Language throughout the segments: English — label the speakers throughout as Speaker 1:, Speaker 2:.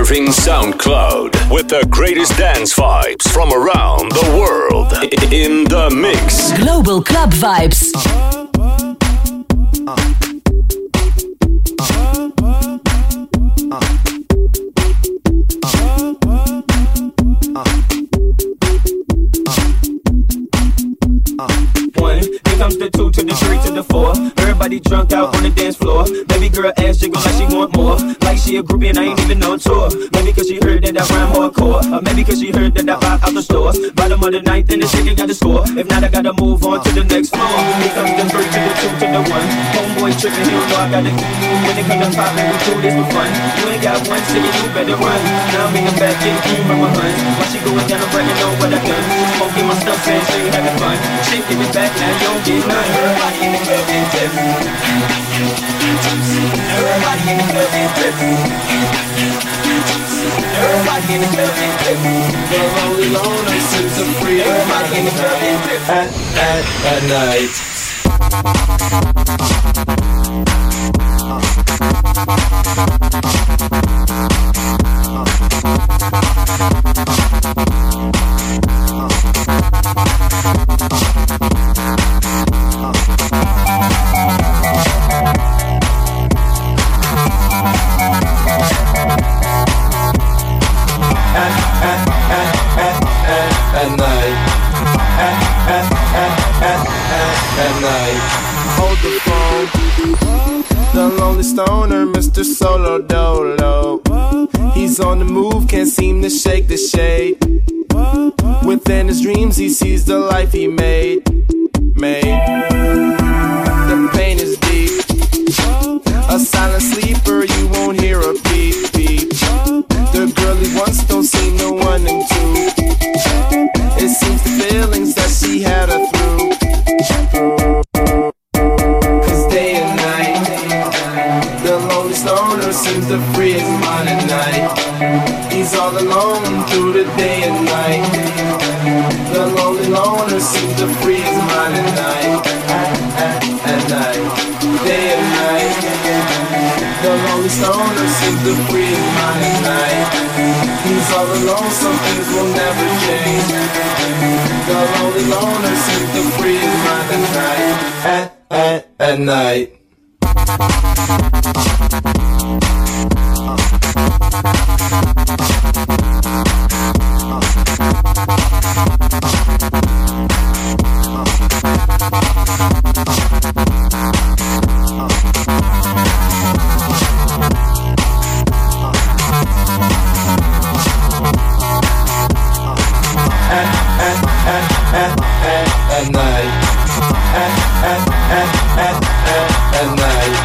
Speaker 1: surfing SoundCloud with the greatest dance vibes from around the world. In the mix.
Speaker 2: Global Club Vibes.
Speaker 3: Comes the 2 to the 3 to the 4. Everybody drunk out on the dance floor. Baby girl ass jiggle like she want more. Like she a groupie and I ain't even on tour. Maybe cause she heard that I rhyme hardcore. Or maybe cause she heard that I buy out the stores. Bottom of the ninth and the chicken got the score. If not I gotta move on to the next floor. Here comes the 3 to the 2 to the 1. Homeboy tripping, he don't know I got the when it comes to poppin', we do this for fun. You ain't got one ticket, you better run. Now I'm in the back getting clean from my huns. While she going down, I'm bragging on what I done. Smoking my stuff, saying she ain't having fun. Shaking it back, now you don't get none. Everybody in the club is tipsy. Everybody in the club is tipsy. Everybody in the club is tipsy. The lonely loner seems so free. Everybody in the club is tipsy. At night.
Speaker 4: Hold the phone. The lonely stoner, Mr. Solo Dolo. He's on the move, can't seem to shake the shade. Within his dreams, he sees the life he made. The pain is deep. A silent sleeper, you won't hear a beep beep. The girl he wants don't seem to want him to. It seems the feelings that she had her through. Seems to free his mind at night. He's all alone through the day and night. The lonely loner seems to free his mind at night. At night, day and night. The lonely loner seems to free his mind at night. He's all alone, some things will never change. The lonely loner seems to free his mind at night. At night. At night. At night.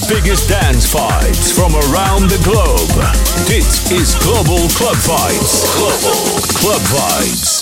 Speaker 1: biggest dance vibes from around the globe. Dit is Global Club Vibes. Global Club Vibes.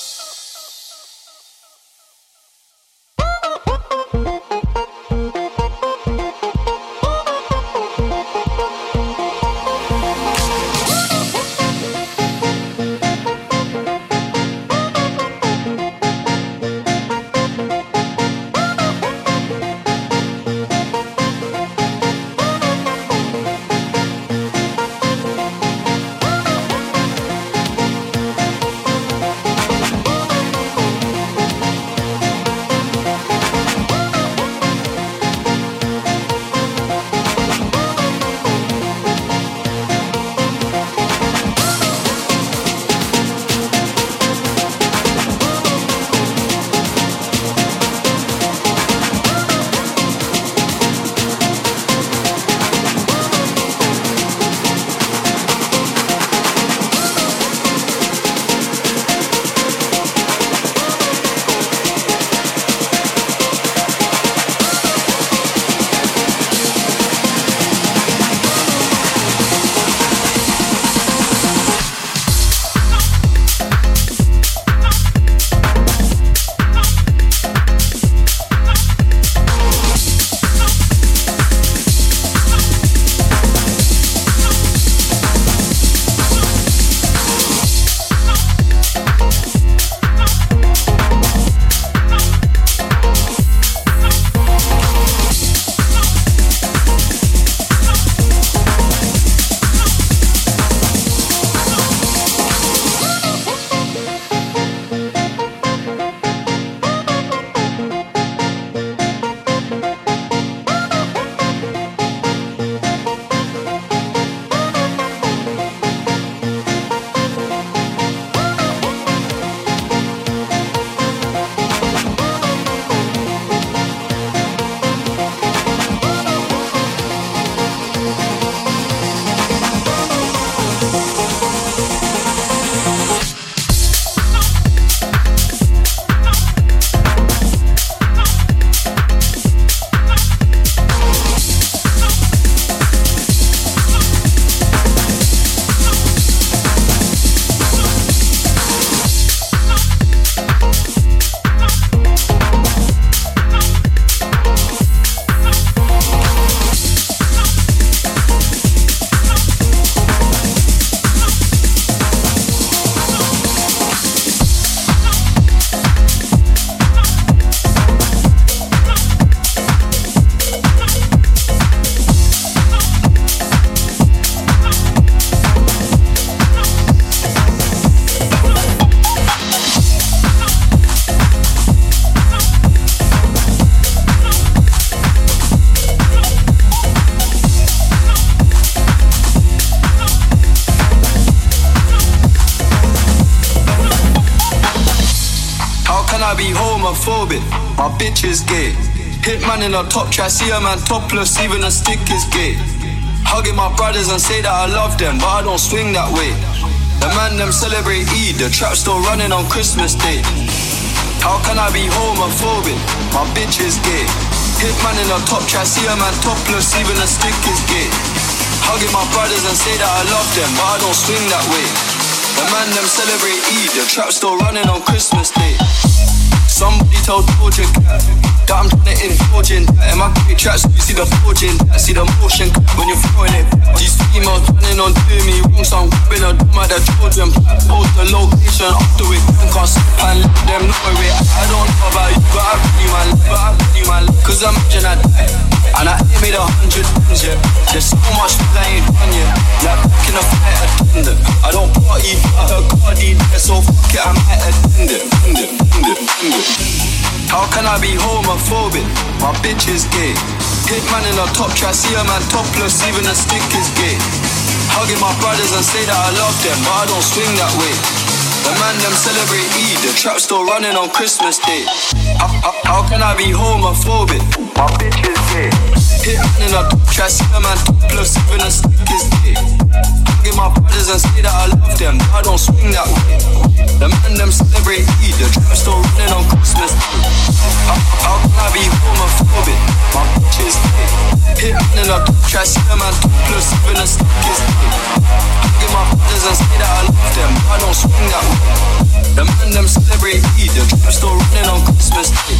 Speaker 2: My bitch is gay. Hitman in a top try, see a man topless, even a stick is gay. Hugging my brothers and say that I love them, but I don't swing that way. The man them celebrate Eid, the trap still running on Christmas Day. How can I be homophobic? My bitch is gay. Hitman in a top try, see a man topless, even a stick is gay. Hugging my brothers and say that I love them, but I don't swing that way. The man them celebrate Eid, the trap still running on Christmas Day. Somebody told Georgia that I'm trying to indulge in that. In my great tracks, you see the forging, see the motion when you're throwing it. These females running on doing me wrong, so I'm grabbing a drum at the children. Post the location after we can't slip and let them know it. I don't know about you, but I really man, cause imagine I die and I ain't made 100 tons yet. There's so much that I ain't done yet. Like back in a fight attend it. I don't party, but I heard Cardi there, so fuck it, I might attend it. How can I be homophobic? My bitch is gay. Hitman in a top try, see a man topless, even a stick is gay. Hugging my brothers and say that I love them, but I don't swing that way. The man them celebrate Eid, the trap still running on Christmas Day. How can I be homophobic? My bitch is gay. Hitman in a top try, see a man topless, even a stick is gay. Hugging my brothers and say that I love them, but I don't swing that way. The man them celebrate Eid, the trap still running on Christmas Day. How can I be homophobic? My bitch is gay. Hitman in a try see a man plus even a stick is hugging my brothers and say that I love them, but I don't swing that way. The man them celebrate Eid, the trap still running on Christmas Day.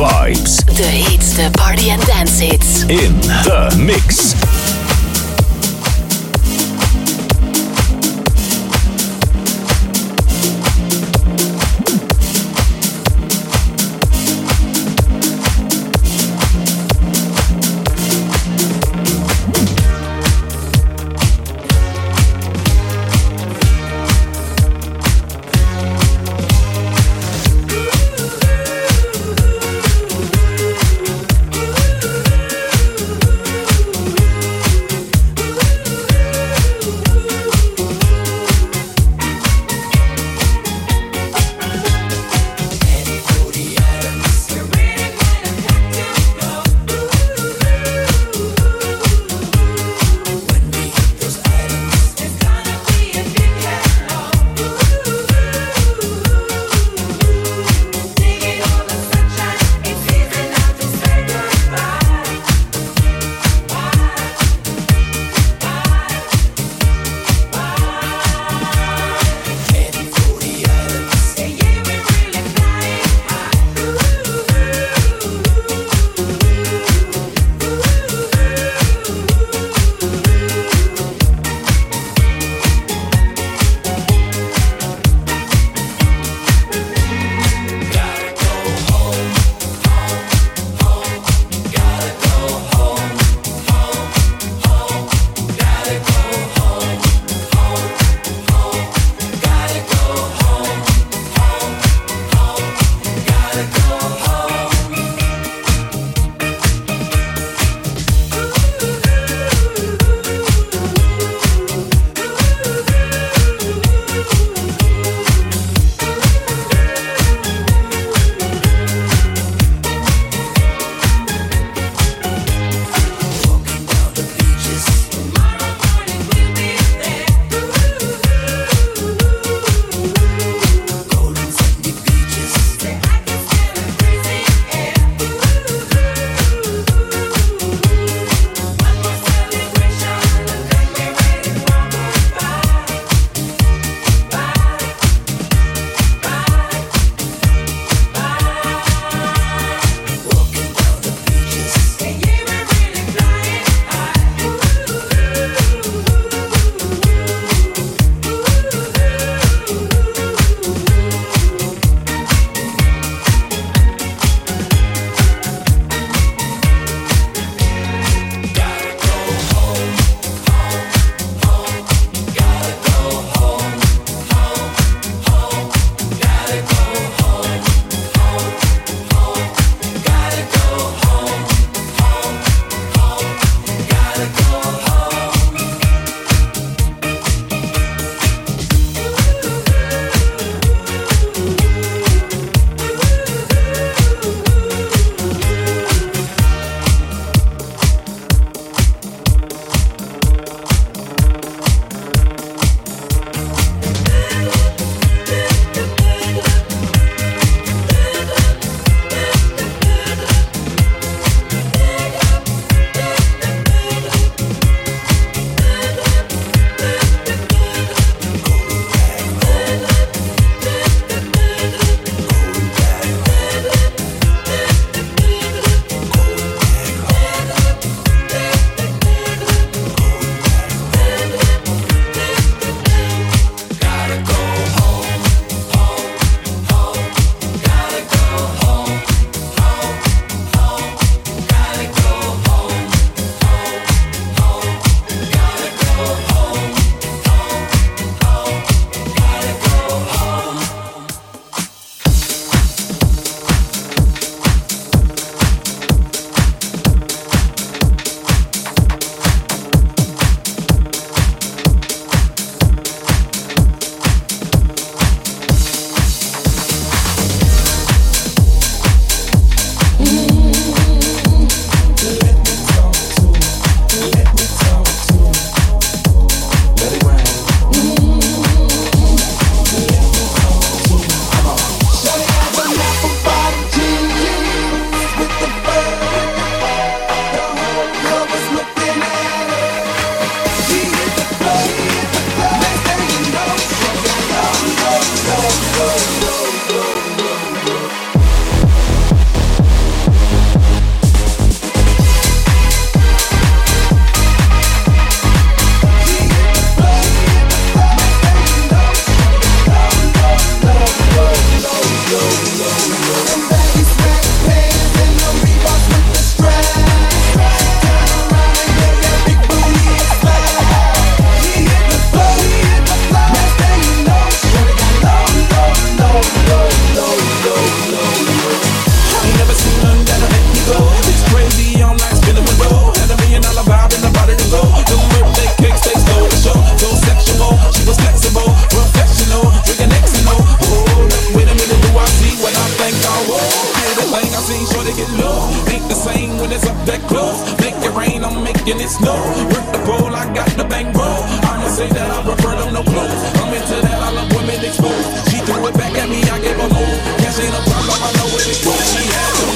Speaker 1: vibes.
Speaker 5: The hits, the party and dance hits.
Speaker 1: In the mix.
Speaker 6: it's no. Work the pole, I got the bankroll. I'ma say that I prefer them no clothes. I'm into that, I love women exposed. She threw it back at me, I gave her more. Cash ain't a problem, I know where it goes. She had to.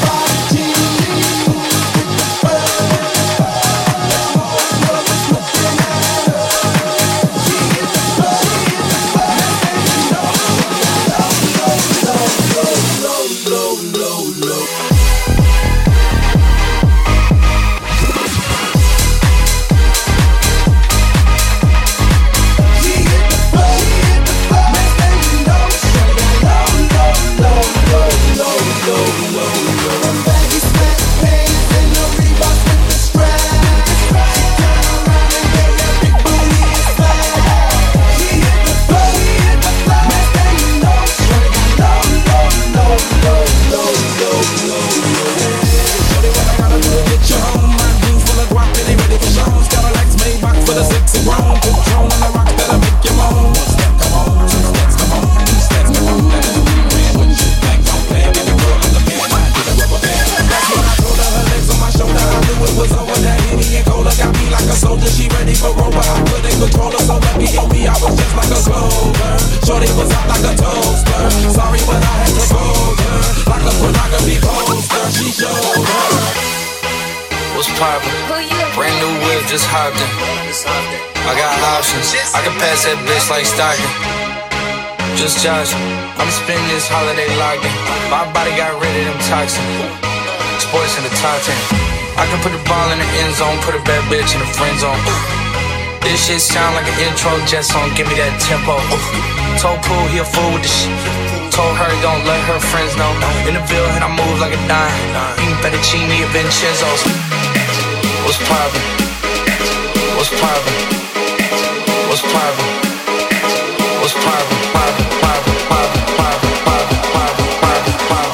Speaker 7: Like Stockton, just Josh. I'm spending this holiday locked in. My body got rid of them toxins. Sports in the top 10. I can put the ball in the end zone, put a bad bitch in the friend zone. This shit sound like an intro jet song. Give me that tempo. Told Pooh he a fool with the shit. Told her don't let her friends know. In the Ville and I move like a dime. Eating fettuccine at Vincenzo's. What's poppin'? What's poppin'? What's poppin'? What's private, private, private, private, private, private, private,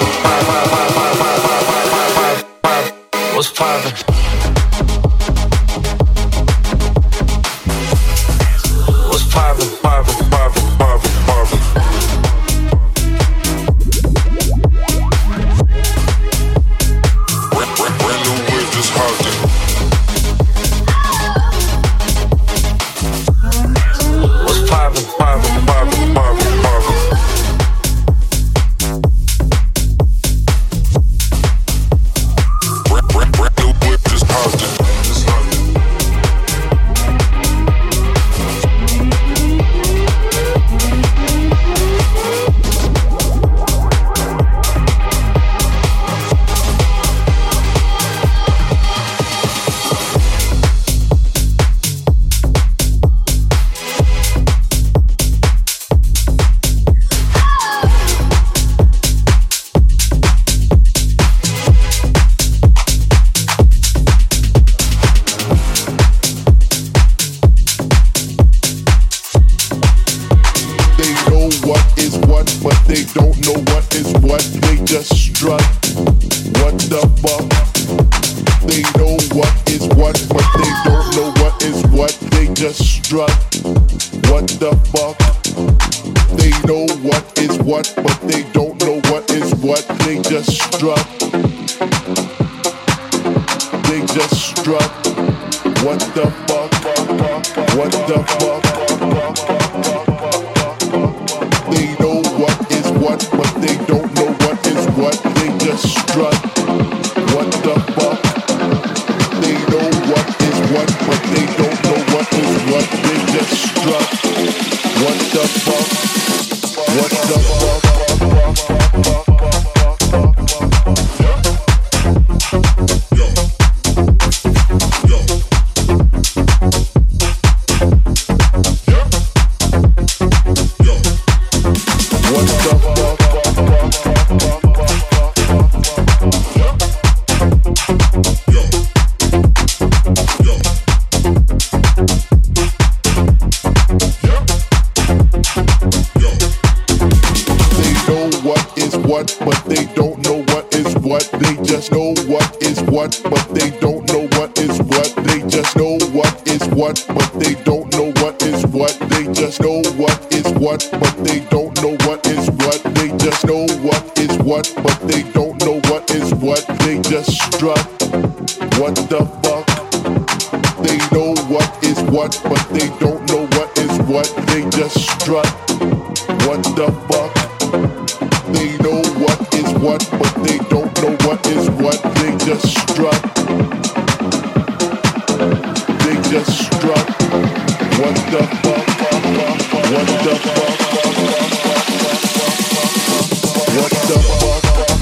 Speaker 7: private, private, what's private? What's private, private, private, private, private? Brand new whip, just hopped in. What's private, private?
Speaker 8: What the fuck? what, but they don't know what is what. They just strut. What the fuck? They know what is what, but they don't know what is what. They just strut. They just strut. What the fuck? What the fuck? What the fuck?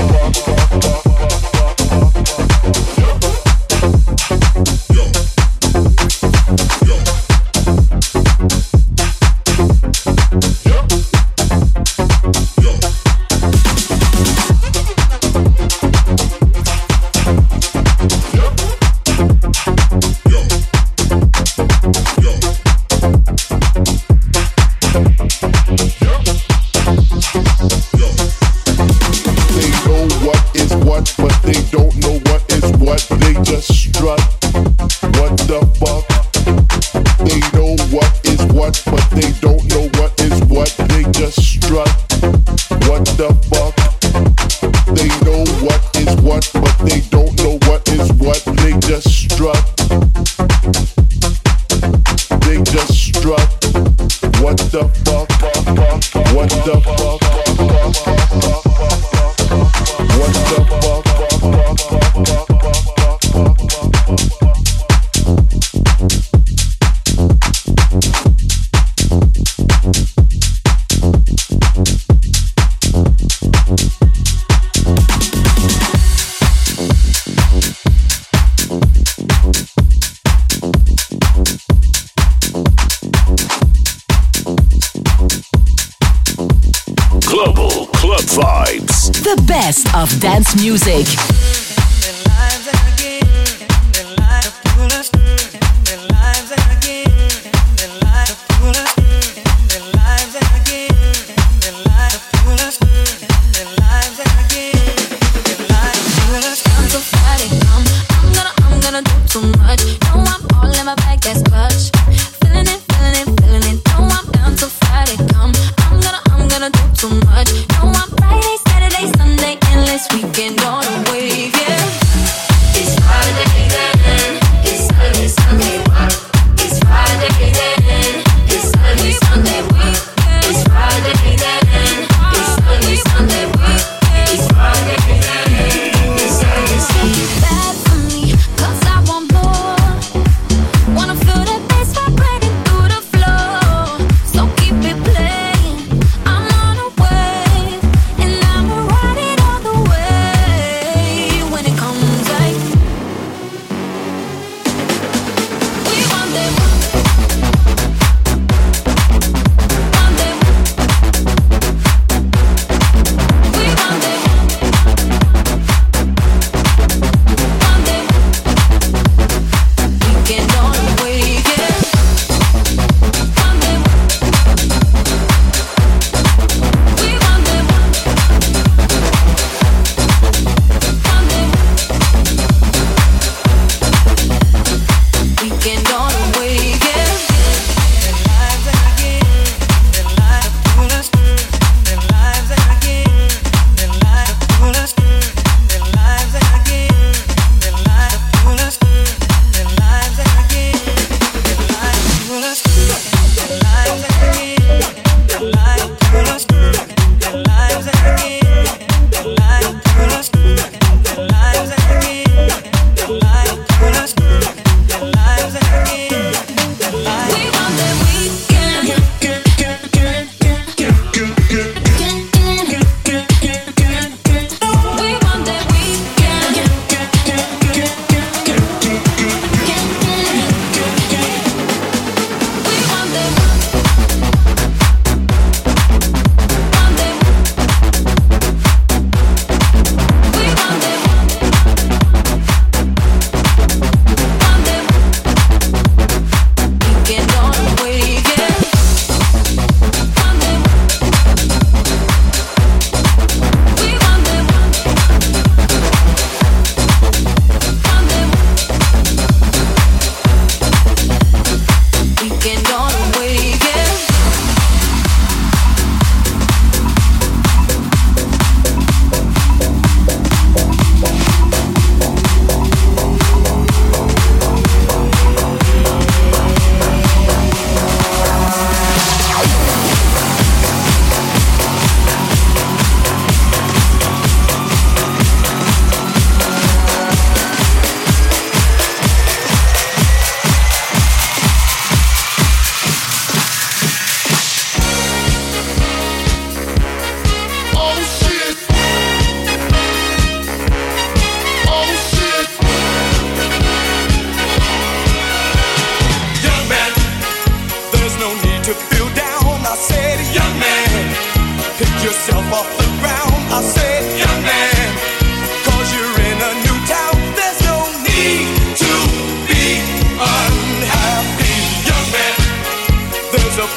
Speaker 5: Of dance music.
Speaker 9: I'm gonna do too much. No, I'm Friday, Saturday, Sunday, endless weekend all the way.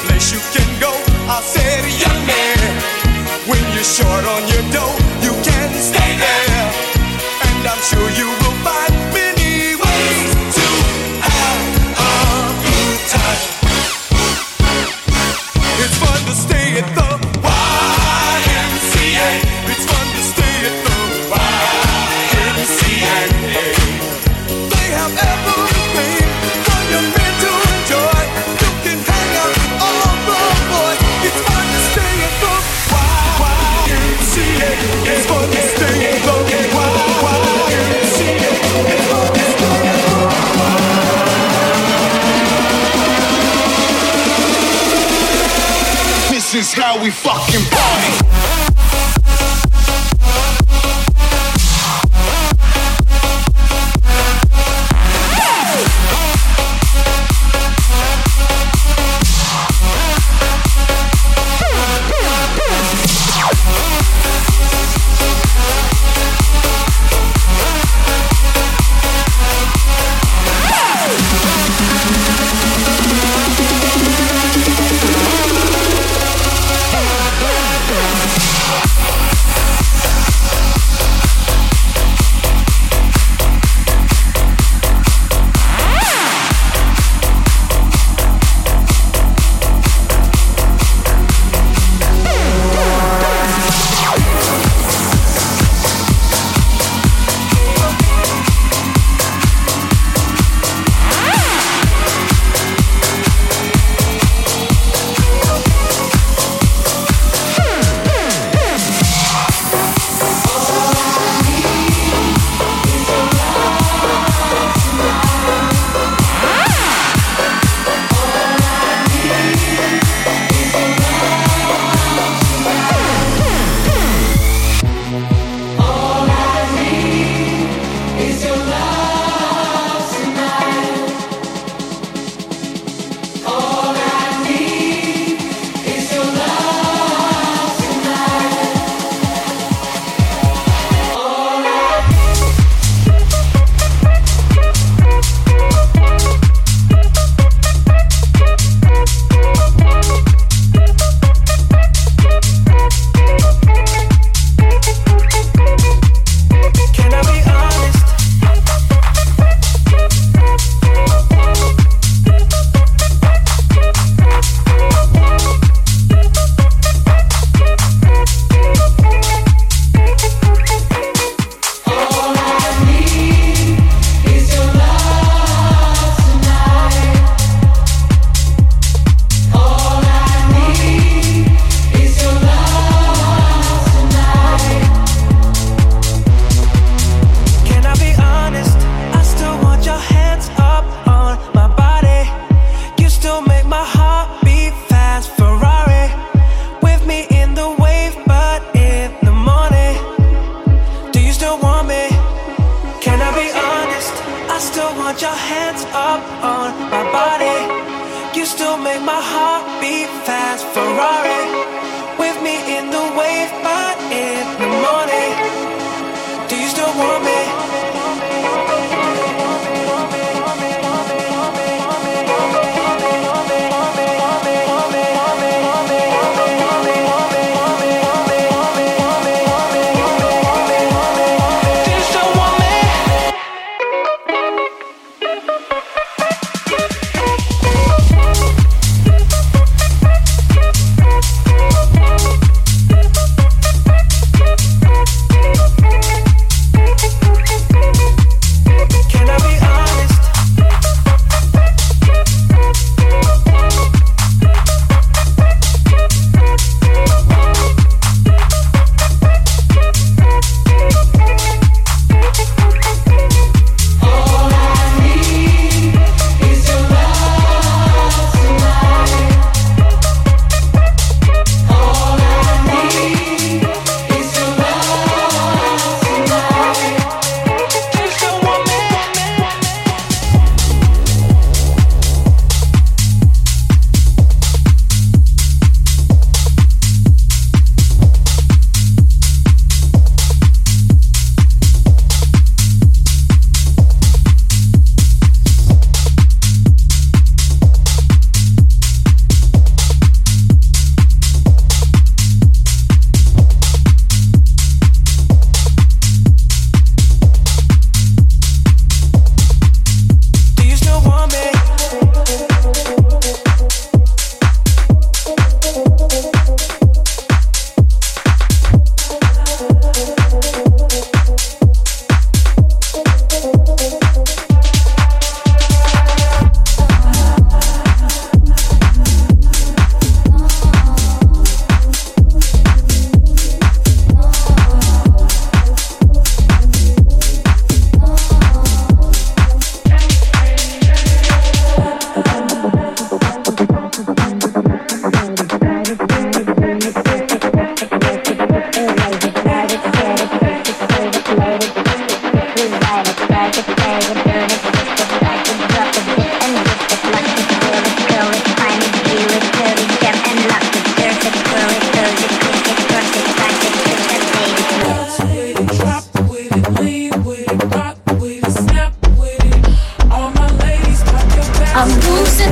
Speaker 9: place you can go. I said, young man, when you're short on your dough, you can stay there. And I'm sure you will find many ways to have a good time. It's fun to stay at the YMCA. It's fun to stay at the YMCA. They have everything for young men to enjoy. You can hang out with all the boys. It's fun to stay at the YMCA. It's fun to stay at the YMCA. It's fun to stay at the YMCA. This is how we fucking party.
Speaker 10: I'm losing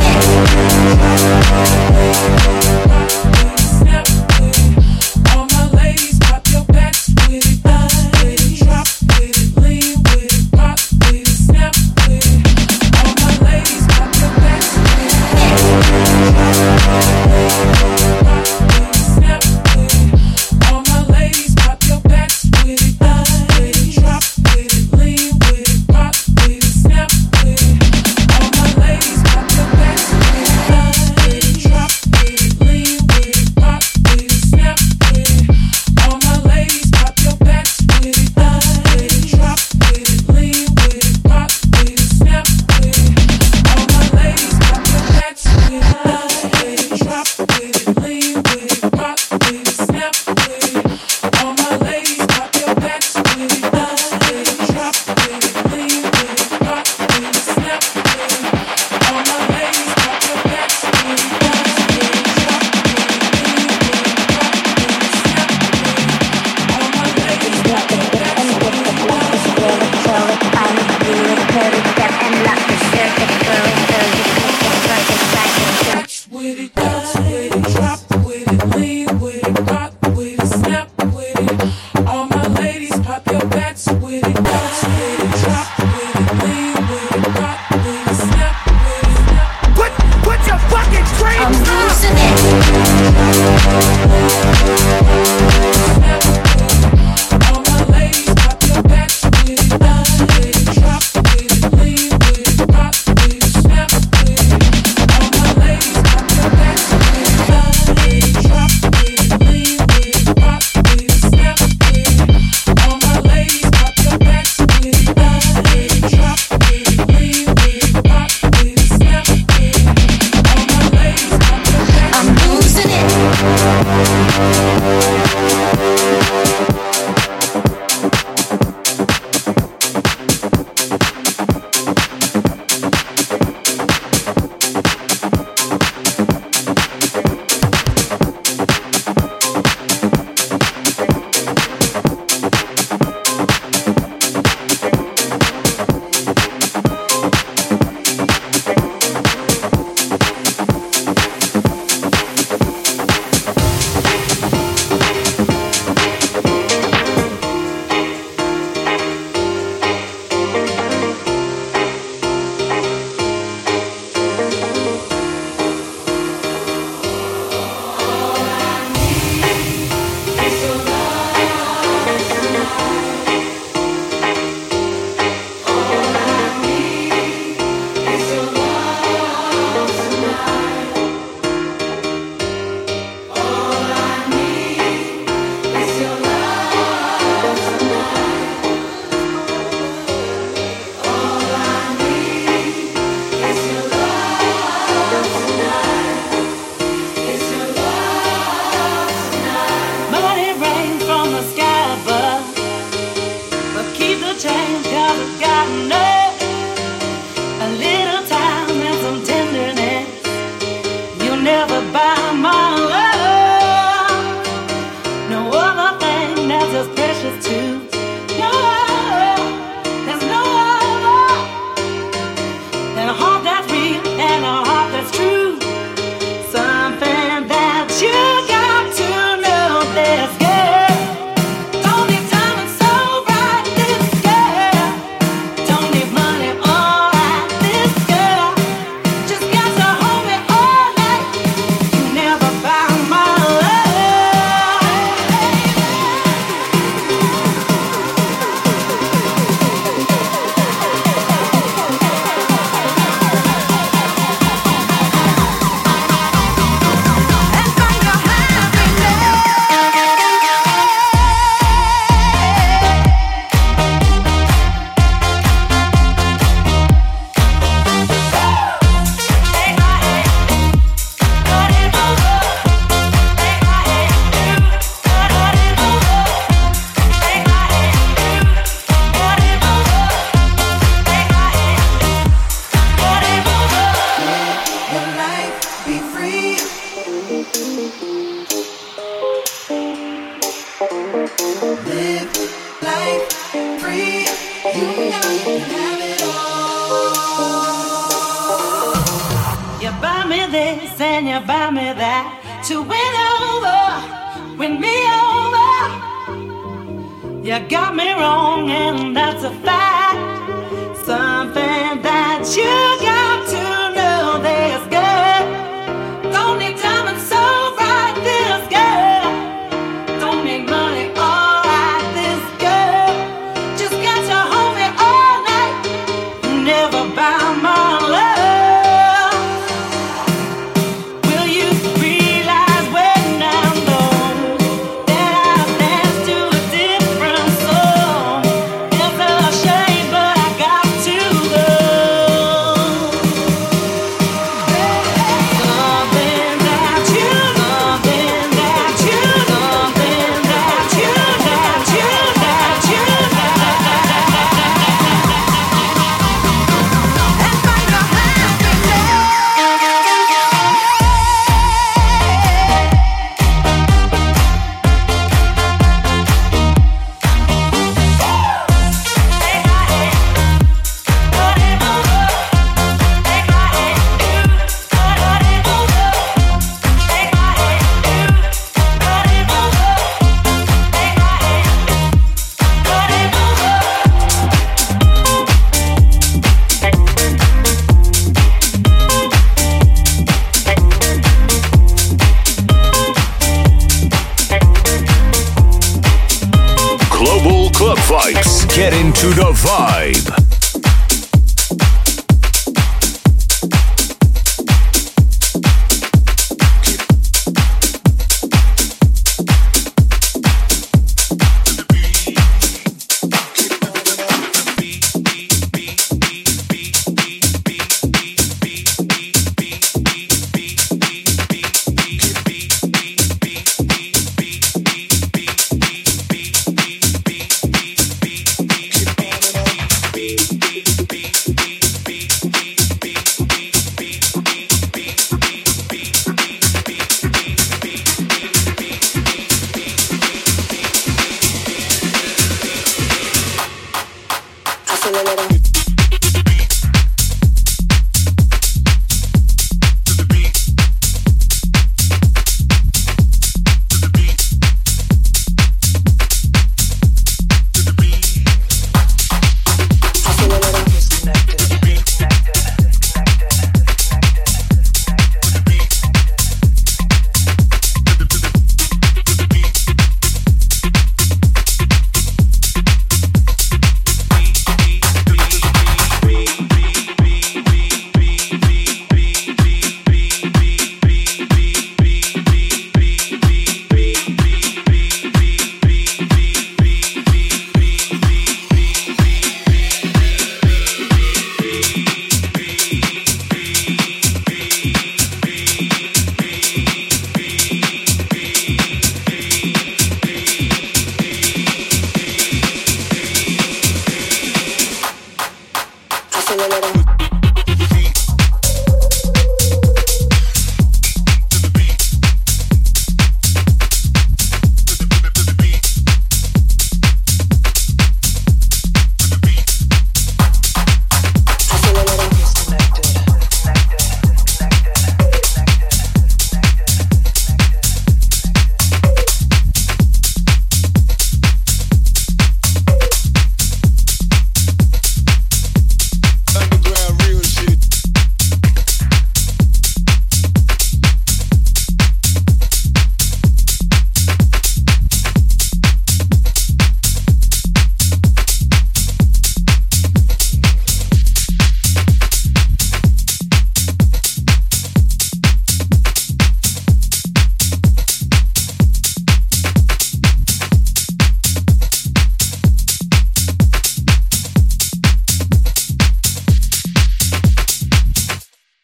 Speaker 6: All my ladies, pop your backs with it, drop with it, lean with it, pop with it, snap with it. All my ladies, pop your backs with it, snap with it. All my ladies, pop your backs with it, drop with it, lean with it, pop with it, snap with it. All my ladies, pop your backs with it, drop with it.
Speaker 10: You buy me this and you buy me that to win me over. You got me wrong and that's a fact. Something that you got to know this girl. Don't need diamonds so bright, this girl. Don't need money, alright, this girl. Just got to hold me all night. Never buy my love. Will you realize when I'm gone that I've danced to a different song? It's a shame, but I got to go. Something that you, something that you, something that you, that you, that you,
Speaker 1: Global Club Vibes. Get into the vibe.